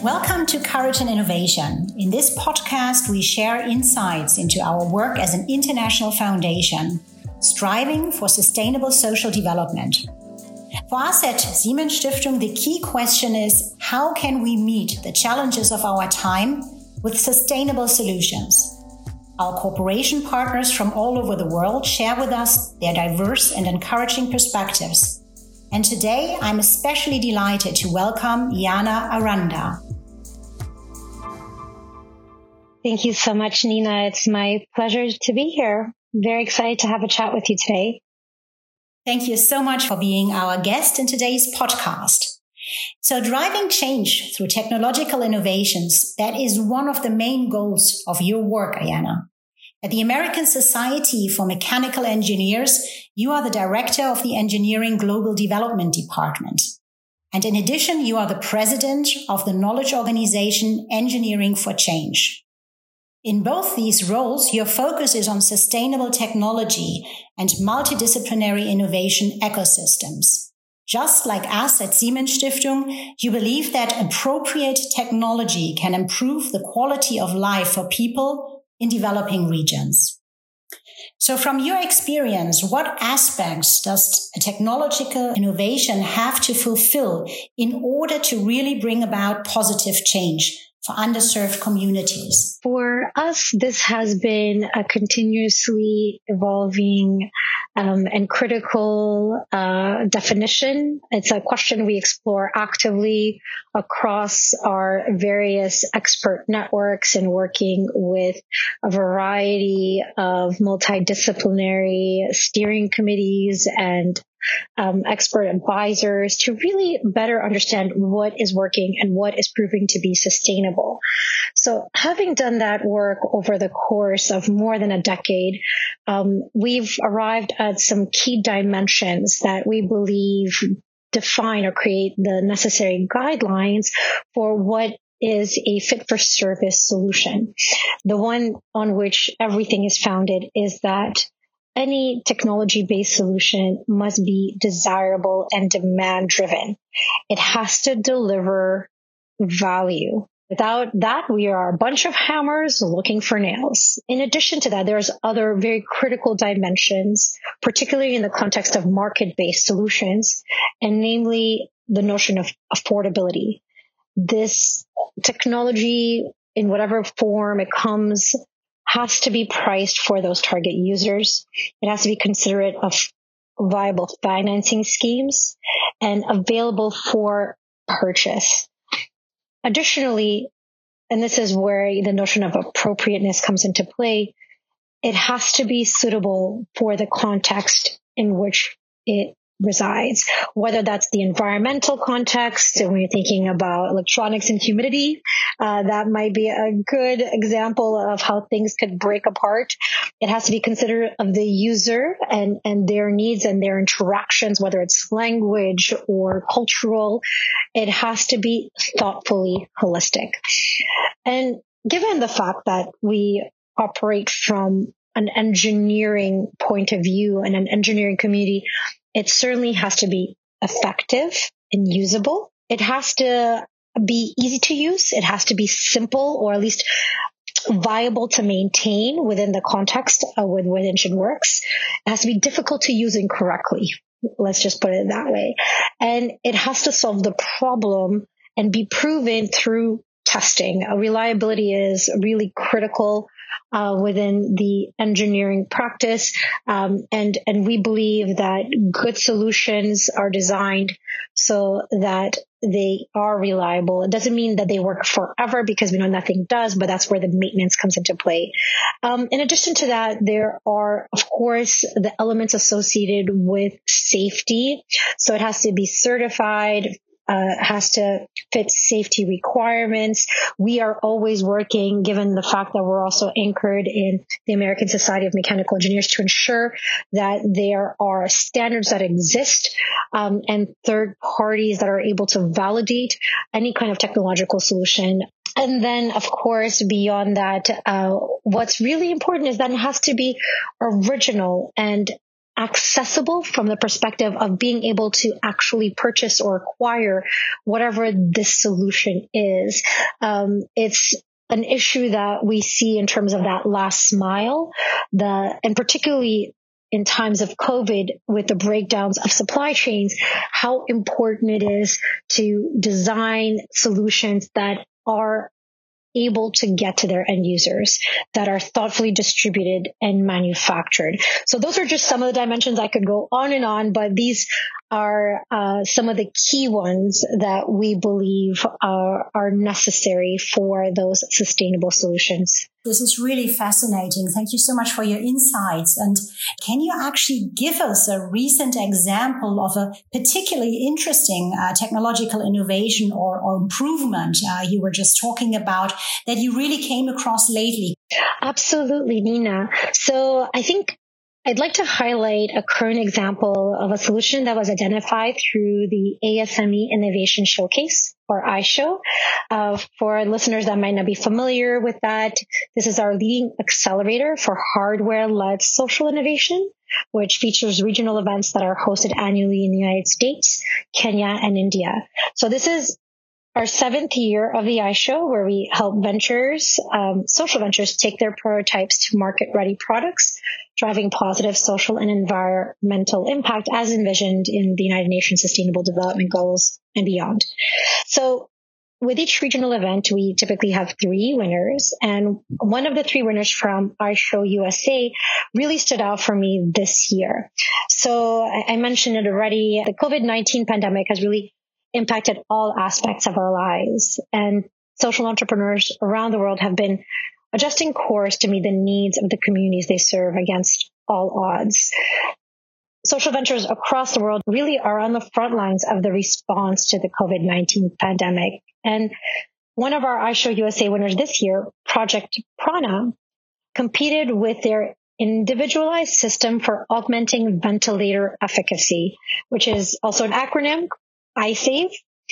Welcome to Courage and Innovation. In this podcast, we share insights into our work as an international foundation, striving for sustainable social development. For us at Siemens Stiftung, the key question is, how can we meet the challenges of our time with sustainable solutions? Our cooperation partners from all over the world share with us their diverse and encouraging perspectives. And today, I'm especially delighted to welcome Jana Aranda. Thank you so much, Nina. It's my pleasure to be here. Very excited to have a chat with you today. Thank you so much for being our guest in today's podcast. So driving change through technological innovations, that is one of the main goals of your work, Jana. At the American Society for Mechanical Engineers, you are the director of the Engineering Global Development Department. And in addition, you are the president of the knowledge organization Engineering for Change. In both these roles, your focus is on sustainable technology and multidisciplinary innovation ecosystems. Just like us at Siemens Stiftung, you believe that appropriate technology can improve the quality of life for people in developing regions. So from your experience, what aspects does a technological innovation have to fulfill in order to really bring about positive change for underserved communities? For us, this has been a continuously evolving and critical definition. It's a question we explore actively across our various expert networks and working with a variety of multidisciplinary steering committees and expert advisors to really better understand what is working and what is proving to be sustainable. So having done that work over the course of more than a decade, we've arrived at some key dimensions that we believe define or create the necessary guidelines for what is a fit-for-service solution. The one on which everything is founded is that any technology-based solution must be desirable and demand-driven. It has to deliver value. Without that, we are a bunch of hammers looking for nails. In addition to that, there's other very critical dimensions, particularly in the context of market-based solutions, and namely the notion of affordability. This technology, in whatever form it comes, has to be priced for those target users. It has to be considerate of viable financing schemes and available for purchase. Additionally, and this is where the notion of appropriateness comes into play, it has to be suitable for the context in which it resides, whether that's the environmental context, and when you're thinking about electronics and humidity, that might be a good example of how things could break apart. It has to be considerate of the user and their needs and their interactions, whether it's language or cultural. It has to be thoughtfully holistic. And given the fact that we operate from an engineering point of view and an engineering community, it certainly has to be effective and usable. It has to be easy to use. It has to be simple, or at least viable to maintain within the context with which it works. It has to be difficult to use incorrectly. Let's just put it that way. And it has to solve the problem and be proven through testing. Reliability is really critical within the engineering practice. And we believe that good solutions are designed so that they are reliable. It doesn't mean that they work forever, because we know nothing does, but that's where the maintenance comes into play. In addition to that, there are, of course, the elements associated with safety. So it has to be certified, has to fit safety requirements. We are always working, given the fact that we're also anchored in the American Society of Mechanical Engineers, to ensure that there are standards that exist and third parties that are able to validate any kind of technological solution. And then, of course, beyond that, what's really important is that it has to be original and accessible from the perspective of being able to actually purchase or acquire whatever this solution is. It's an issue that we see in terms of that last mile, and particularly in times of COVID with the breakdowns of supply chains, how important it is to design solutions that are able to get to their end users, that are thoughtfully distributed and manufactured. So those are just some of the dimensions. I could go on, but these are some of the key ones that we believe are necessary for those sustainable solutions. This is really fascinating. Thank you so much for your insights. And can you actually give us a recent example of a particularly interesting technological innovation or improvement you were just talking about that you really came across lately? Absolutely, Nina. So I think I'd like to highlight a current example of a solution that was identified through the ASME Innovation Showcase, or iShow. For listeners that might not be familiar with that, this is our leading accelerator for hardware-led social innovation, which features regional events that are hosted annually in the United States, Kenya, and India. So this is our 7th year of the iShow, where we help ventures, social ventures, take their prototypes to market-ready products, driving positive social and environmental impact as envisioned in the United Nations Sustainable Development Goals and beyond. So with each regional event, we typically have 3 winners, and one of the 3 winners from iShow USA really stood out for me this year. So I mentioned it already. The COVID-19 pandemic has really impacted all aspects of our lives, and social entrepreneurs around the world have been adjusting course to meet the needs of the communities they serve against all odds. Social ventures across the world really are on the front lines of the response to the COVID-19 pandemic. And one of our iShow USA winners this year, Project Prana, competed with their individualized system for augmenting ventilator efficacy, which is also an acronym, iSave.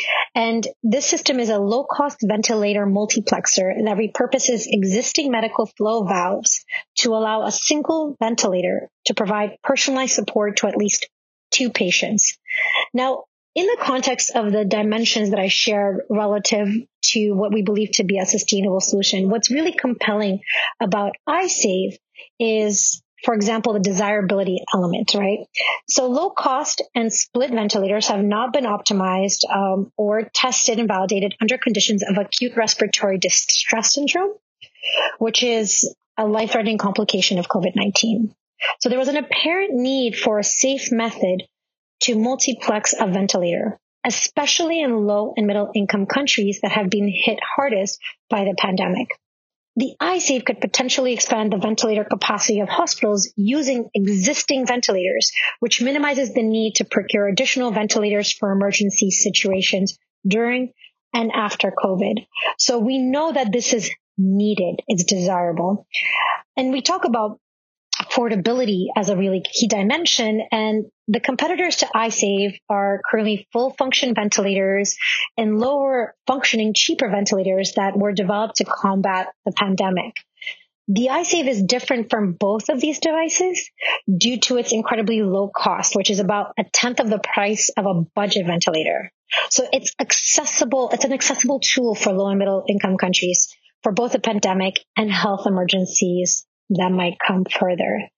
And this system is a low-cost ventilator multiplexer that repurposes existing medical flow valves to allow a single ventilator to provide personalized support to at least 2 patients. Now, in the context of the dimensions that I shared relative to what we believe to be a sustainable solution, what's really compelling about iSave is, for example, the desirability element, right? So low cost and split ventilators have not been optimized or tested and validated under conditions of acute respiratory distress syndrome, which is a life-threatening complication of COVID-19. So there was an apparent need for a safe method to multiplex a ventilator, especially in low and middle income countries that have been hit hardest by the pandemic. The iSave could potentially expand the ventilator capacity of hospitals using existing ventilators, which minimizes the need to procure additional ventilators for emergency situations during and after COVID. So we know that this is needed. It's desirable. And we talk about affordability as a really key dimension, and the competitors to iSave are currently full function ventilators and lower functioning, cheaper ventilators that were developed to combat the pandemic. The iSave is different from both of these devices due to its incredibly low cost, which is about 1/10 of the price of a budget ventilator. So it's accessible. It's an accessible tool for low and middle income countries for both the pandemic and health emergencies that might come further.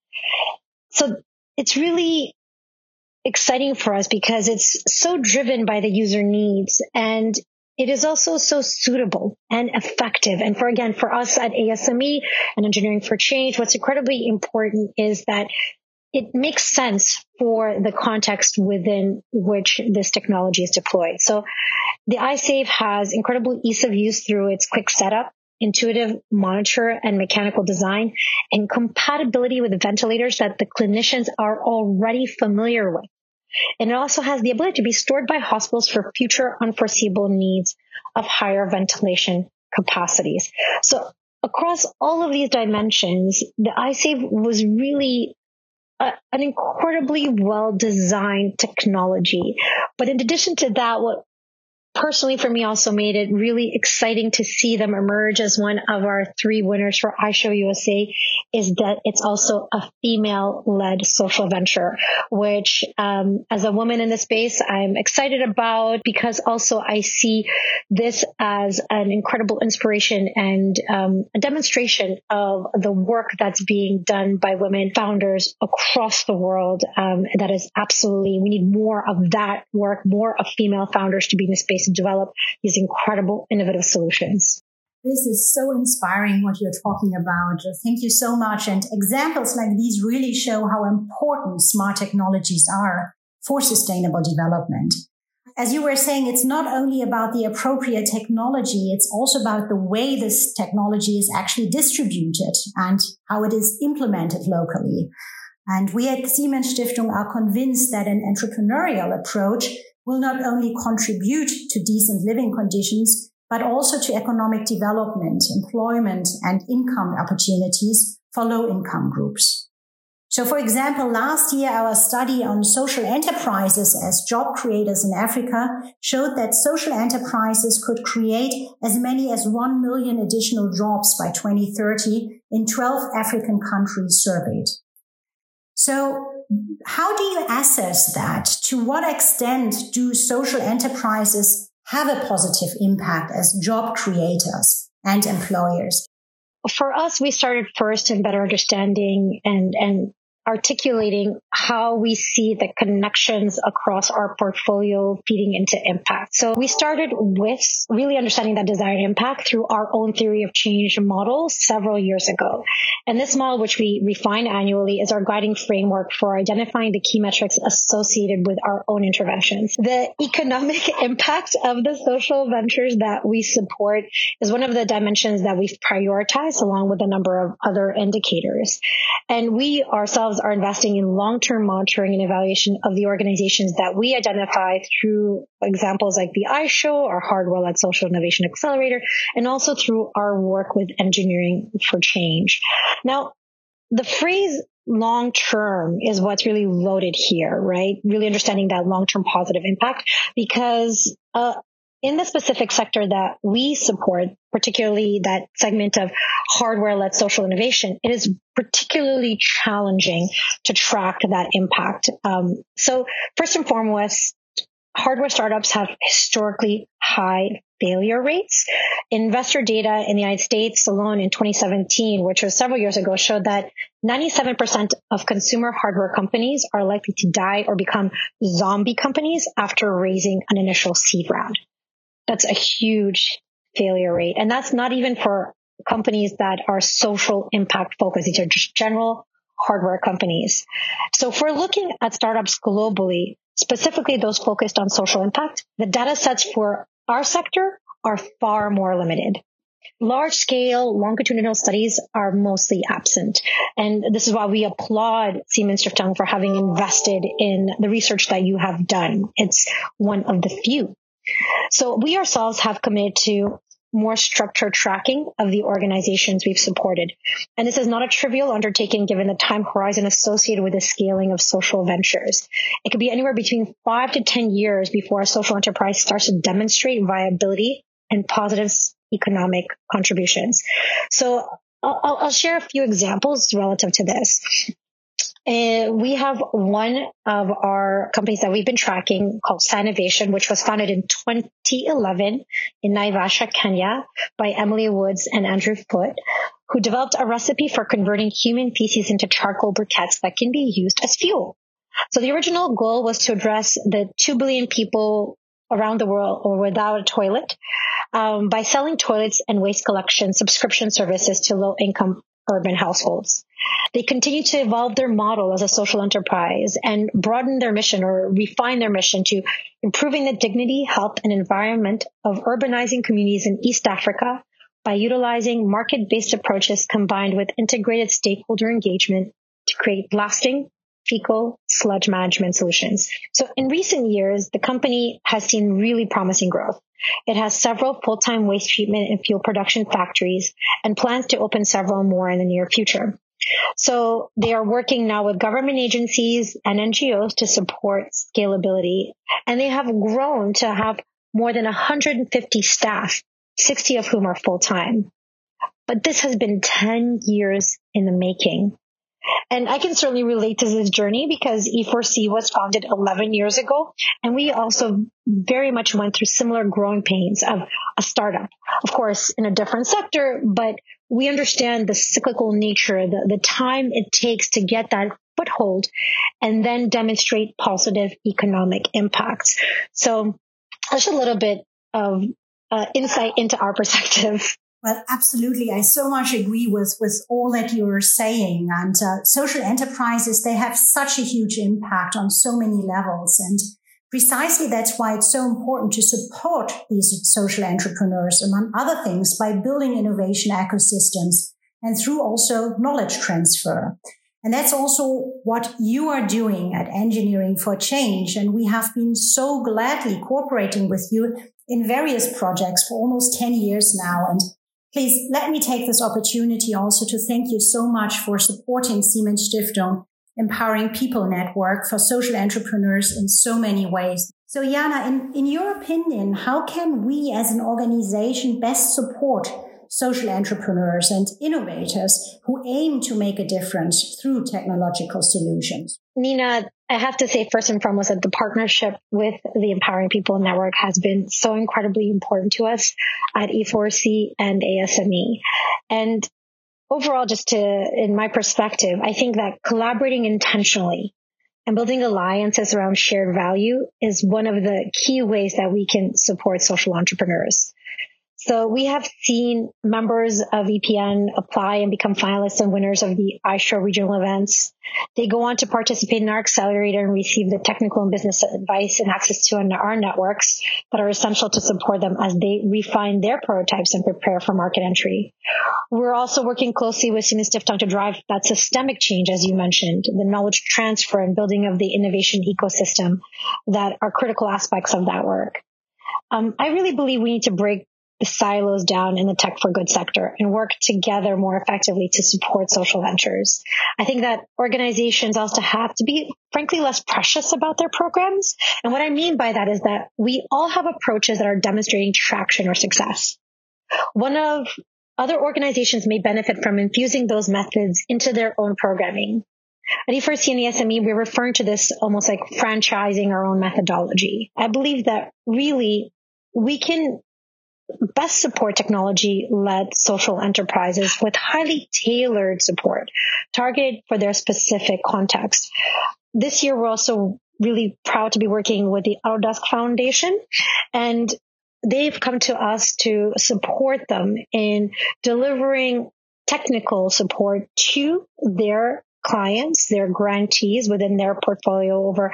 So it's really exciting for us because it's so driven by the user needs, and it is also so suitable and effective. And for us at ASME and Engineering for Change, what's incredibly important is that it makes sense for the context within which this technology is deployed. So the iSave has incredible ease of use through its quick setup, intuitive monitor and mechanical design, and compatibility with ventilators that the clinicians are already familiar with. And it also has the ability to be stored by hospitals for future unforeseeable needs of higher ventilation capacities. So across all of these dimensions, the iSave was really an incredibly well-designed technology. But in addition to that, what personally for me also made it really exciting to see them emerge as one of our 3 winners for iShow USA is that it's also a female-led social venture, which as a woman in the space, I'm excited about because also I see this as an incredible inspiration and a demonstration of the work that's being done by women founders across the world. That is absolutely, we need more of that work, more of female founders to be in the space and develop these incredible, innovative solutions. This is so inspiring what you're talking about. Thank you so much. And examples like these really show how important smart technologies are for sustainable development. As you were saying, it's not only about the appropriate technology, it's also about the way this technology is actually distributed and how it is implemented locally. And we at Siemens Stiftung are convinced that an entrepreneurial approach will not only contribute to decent living conditions, but also to economic development, employment, and income opportunities for low-income groups. So, for example, last year, our study on social enterprises as job creators in Africa showed that social enterprises could create as many as 1 million additional jobs by 2030 in 12 African countries surveyed. So how do you assess that? To what extent do social enterprises have a positive impact as job creators and employers? For us, we started first in better understanding and articulating how we see the connections across our portfolio feeding into impact. So we started with really understanding that desired impact through our own theory of change model several years ago. And this model, which we refine annually, is our guiding framework for identifying the key metrics associated with our own interventions. The economic impact of the social ventures that we support is one of the dimensions that we've prioritized along with a number of other indicators. And we ourselves are investing in long-term monitoring and evaluation of the organizations that we identify through examples like the iShow, our hardware-led social innovation accelerator, and also through our work with engineering for change. Now, the phrase long-term is what's really loaded here, right? Really understanding that long-term positive impact because in the specific sector that we support, particularly that segment of hardware-led social innovation, it is particularly challenging to track that impact. So first and foremost, hardware startups have historically high failure rates. Investor data in the United States alone in 2017, which was several years ago, showed that 97% of consumer hardware companies are likely to die or become zombie companies after raising an initial seed round. That's a huge failure rate. And that's not even for companies that are social impact focused. These are just general hardware companies. So if we're looking at startups globally, specifically those focused on social impact, the data sets for our sector are far more limited. Large-scale longitudinal studies are mostly absent. And this is why we applaud Siemens Stiftung for having invested in the research that you have done. It's one of the few. So we ourselves have committed to more structured tracking of the organizations we've supported. And this is not a trivial undertaking given the time horizon associated with the scaling of social ventures. It could be anywhere between 5 to 10 years before a social enterprise starts to demonstrate viability and positive economic contributions. So I'll share a few examples relative to this. We have one of our companies that we've been tracking called Sanovation, which was founded in 2011 in Naivasha, Kenya by Emily Woods and Andrew Foote, who developed a recipe for converting human feces into charcoal briquettes that can be used as fuel. So the original goal was to address the 2 billion people around the world or without a toilet by selling toilets and waste collection subscription services to low-income urban households. They continue to evolve their model as a social enterprise and broaden their mission or refine their mission to improving the dignity, health, and environment of urbanizing communities in East Africa by utilizing market-based approaches combined with integrated stakeholder engagement to create lasting fecal sludge management solutions. So in recent years, the company has seen really promising growth. It has several full-time waste treatment and fuel production factories and plans to open several more in the near future. So they are working now with government agencies and NGOs to support scalability. And they have grown to have more than 150 staff, 60 of whom are full-time. But this has been 10 years in the making. And I can certainly relate to this journey because E4C was founded 11 years ago. And we also very much went through similar growing pains of a startup, of course, in a different sector, but we understand the cyclical nature, the time it takes to get that foothold and then demonstrate positive economic impacts. So that's a little bit of insight into our perspective. Well, absolutely. I so much agree with all that you're saying. And social enterprises, they have such a huge impact on so many levels. And precisely that's why it's so important to support these social entrepreneurs, among other things, by building innovation ecosystems and through also knowledge transfer. And that's also what you are doing at Engineering for Change. And we have been so gladly cooperating with you in various projects for almost 10 years now. And please let me take this opportunity also to thank you so much for supporting Siemens Stiftung Empowering People Network for social entrepreneurs in so many ways. So Jana, in your opinion, how can we as an organization best support social entrepreneurs and innovators who aim to make a difference through technological solutions? Nina, I have to say first and foremost that the partnership with the Empowering People Network has been so incredibly important to us at E4C and ASME. And overall, in my perspective, I think that collaborating intentionally and building alliances around shared value is one of the key ways that we can support social entrepreneurs. So we have seen members of EPN apply and become finalists and winners of the iShow regional events. They go on to participate in our accelerator and receive the technical and business advice and access to our networks that are essential to support them as they refine their prototypes and prepare for market entry. We're also working closely with Siemens Stiftung to drive that systemic change, as you mentioned, the knowledge transfer and building of the innovation ecosystem that are critical aspects of that work. I really believe we need to break the silos down in the tech for good sector and work together more effectively to support social ventures. I think that organizations also have to be, frankly, less precious about their programs. And what I mean by that is that we all have approaches that are demonstrating traction or success. One of other organizations may benefit from infusing those methods into their own programming. At E4C and the SME, we're referring to this almost like franchising our own methodology. I believe that really we can best support technology-led social enterprises with highly tailored support targeted for their specific context. This year, we're also really proud to be working with the Autodesk Foundation, and they've come to us to support them in delivering technical support to their clients, their grantees within their portfolio, over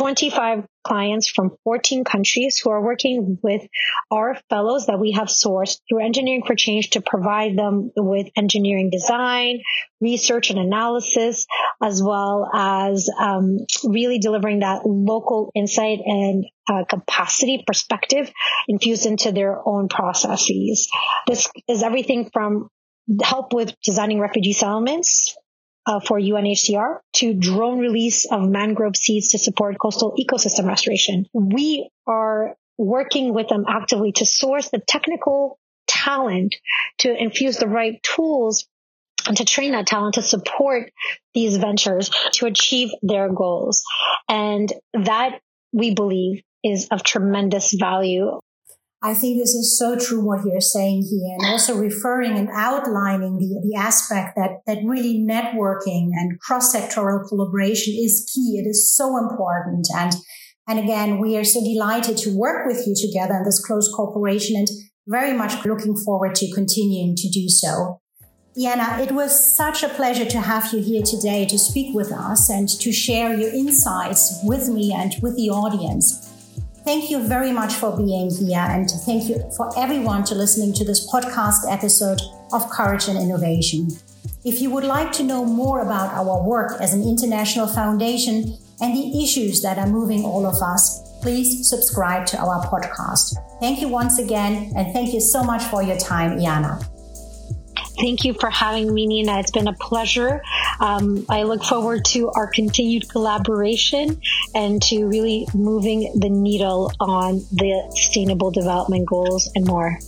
25 clients from 14 countries who are working with our fellows that we have sourced through Engineering for Change to provide them with engineering design, research and analysis, as well as really delivering that local insight and capacity perspective infused into their own processes. This is everything from help with designing refugee settlements for UNHCR to drone release of mangrove seeds to support coastal ecosystem restoration. We are working with them actively to source the technical talent, to infuse the right tools, and to train that talent to support these ventures to achieve their goals. And that, we believe, is of tremendous value. I think this is so true what you're saying here, and also referring and outlining the aspect that really networking and cross-sectoral collaboration is key. It is so important. And again, we are so delighted to work with you together in this close cooperation and very much looking forward to continuing to do so. Jana, it was such a pleasure to have you here today to speak with us and to share your insights with me and with the audience. Thank you very much for being here, and thank you for everyone to listening to this podcast episode of Courage and Innovation. If you would like to know more about our work as an international foundation and the issues that are moving all of us, please subscribe to our podcast. Thank you once again, and thank you so much for your time, Jana. Thank you for having me, Nina. It's been a pleasure. I look forward to our continued collaboration and to really moving the needle on the Sustainable Development Goals and more.